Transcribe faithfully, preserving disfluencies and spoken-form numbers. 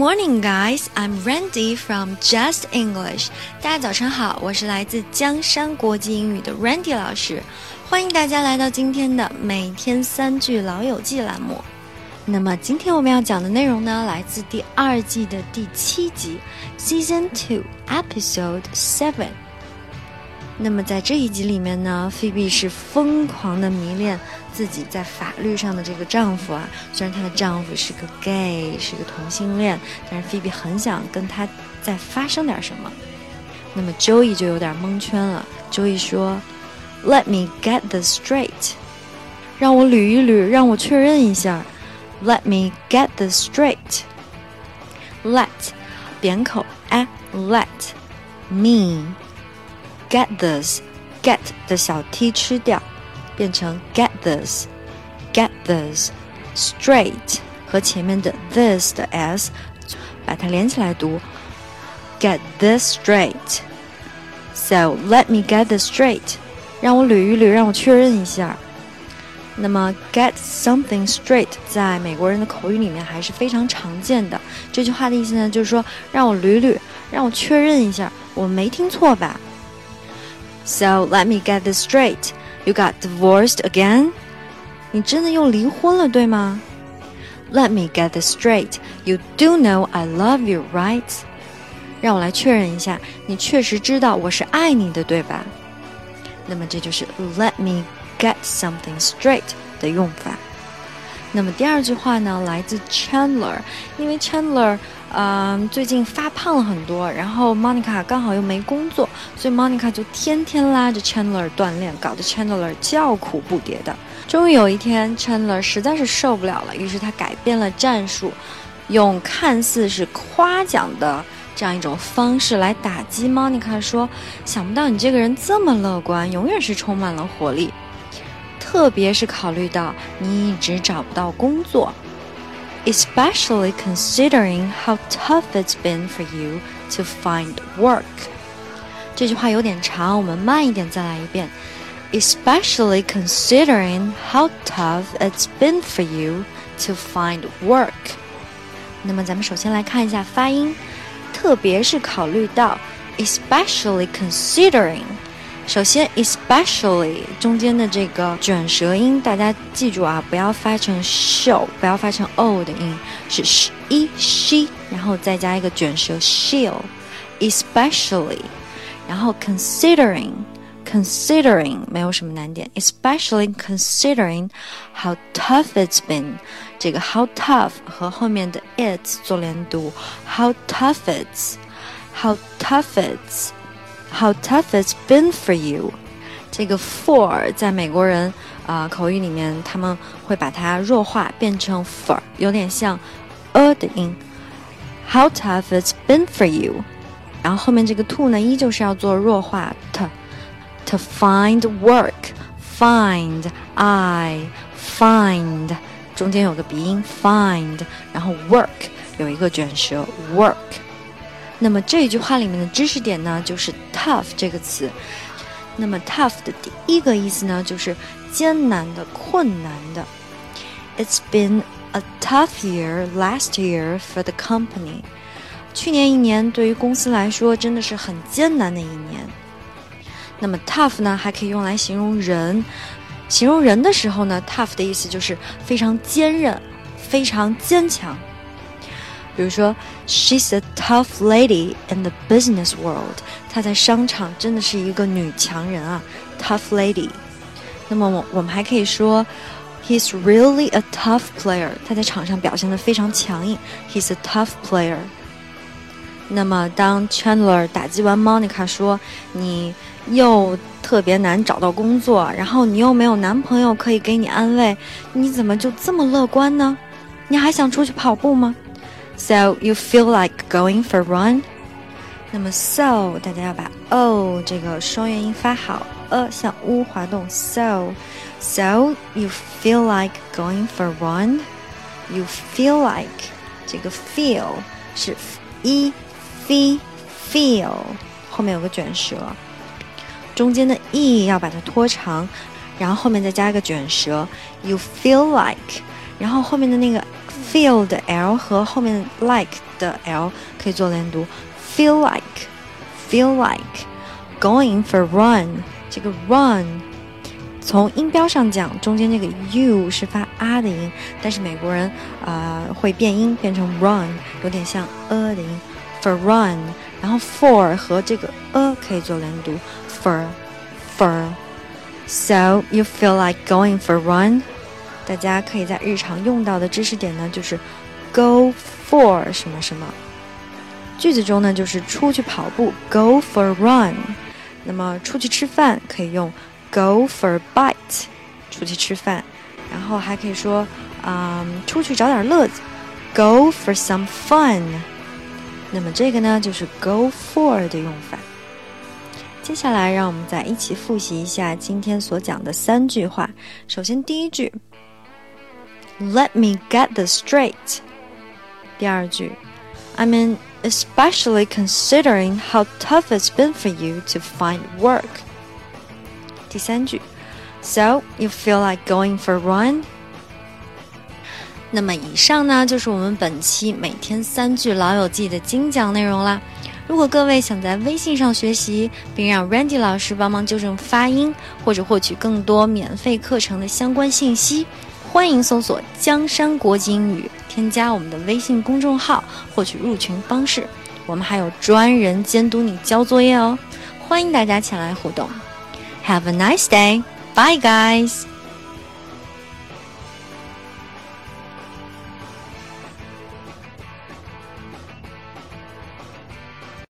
morning, guys. I'm Randy from Just English. 大家早上好，我是来自江山国际英语的 Randy 老师，欢迎大家来到今天的每天三句老友记栏目。那么今天我们要讲的内容呢，来自第二季的第七集 Season two Episode seven。那么在这一集里面呢，菲比是疯狂的迷恋自己在法律上的这个丈夫啊，虽然她的丈夫是个 gay， 是个同性恋，但是菲比很想跟他再发生点什么。那么 Joey 就有点蒙圈了， Joey 说 Let me get this straight， 让我捋一捋，让我确认一下。 Let me get this straight。 Let 扁口 a let me get this get 的小 t 吃掉，变成 get this get this straight 和前面的 this 的 s 把它连起来读 get this straight。 So let me get this straight， 让我捋一捋，让我确认一下。那么 get something straight 在美国人的口语里面还是非常常见的，这句话的意思呢，就是说让我捋捋，让我确认一下，我没听错吧。 So let me get this straight， You got divorced again？ 你真的又离婚了，对吗？ Let me get this straight， You do know I love you, right？ 让我来确认一下，你确实知道我是爱你的，对吧？那么这就是 Let me get something straight 的用法。那么第二句话呢，来自 Chandler， 因为 Chandler 呃，最近发胖了很多，然后 Monica 刚好又没工作，所以 Monica 就天天拉着 Chandler 锻炼，搞得 Chandler 叫苦不迭的。终于有一天 Chandler 实在是受不了了，于是他改变了战术，用看似是夸奖的这样一种方式来打击 Monica， 说想不到你这个人这么乐观，永远是充满了活力，特别是考虑到你一直找不到工作， especially considering how tough it's been for you to find work。 这句话有点长，我们慢一点再来一遍。 especially considering how tough it's been for you to find work。 那么咱们首先来看一下发音，特别是考虑到 especially considering，首先 especially 中间的这个卷舌音大家记住啊，不要发成 show， 不要发成 o 的音，是 sh e she， 然后再加一个卷舌 she'll especially， 然后 considering considering 没有什么难点， especially considering how tough it's been， 这个 how tough 和后面的 it's 做连读， how tough it's how tough it's How tough it's been for you。 这个 for 在美国人、呃、口语里面他们会把它弱化变成 for， 有点像 a 的音。 How tough it's been for you， 然后后面这个 to 呢依旧是要做弱化 to to find work find I find 中间有个鼻音 find， 然后 work 有一个卷舌 work。那么这一句话里面的知识点呢，就是 tough 这个词。那么 tough 的第一个意思呢，就是艰难的、困难的。It's been a tough year last year for the company。 去年一年对于公司来说真的是很艰难的一年。那么 tough 呢，还可以用来形容人。形容人的时候呢， tough 的意思就是非常坚韧、非常坚强。比如说 She's a tough lady in the business world， 她在商场真的是一个女强人啊 tough lady。 那么我们还可以说 He's really a tough player， 他在场上表现得非常强硬， He's a tough player。 那么当 Chandler 打击完 Monica 说你又特别难找到工作，然后你又没有男朋友可以给你安慰，你怎么就这么乐观呢？你还想出去跑步吗？ So you feel like going for a run？ 那么 so 大家要把 o 这个双元音发好， a 向 u 滑动 so So you feel like going for a run？ You feel like 这个 feel 是 e f feel 后面有个卷舌，中间的 e 要把它拖长，然后后面再加一个卷舌 You feel like， 然后后面的那个 feel 的 l 和后面 like 的 l 可以做连读 feel like feel like going for run 这个 run 从音标上讲中间这个 u 是发 a 的音，但是美国人呃会变音变成 run 有点像 a 的音 for run， 然后 for 和这个 a 可以做连读 for for so you feel like going for run， 大家可以在日常用到的知识点呢就是 go for 什么什么，句子中呢就是出去跑步 go for run， 那么出去吃饭可以用Go for a bite， 出去吃饭，然后还可以说，嗯，出去找点乐子 ，Go for some fun。那么这个呢，就是 go for 的用法。接下来，让我们再一起复习一下今天所讲的三句话。首先，第一句 ，Let me get this straight。第二句 ，I mean, especially considering how tough it's been for you to find work。第三句 So you feel like going for a run？ 那么以上呢就是我们本期每天三句老友记的精讲内容啦。如果各位想在微信上学习，并让 Randy 老师帮忙纠正发音，或者获取更多免费课程的相关信息，欢迎搜索江山国际英语，添加我们的微信公众号，获取入群方式。我们还有专人监督你交作业哦，欢迎大家前来互动。Have a nice day. Bye, guys.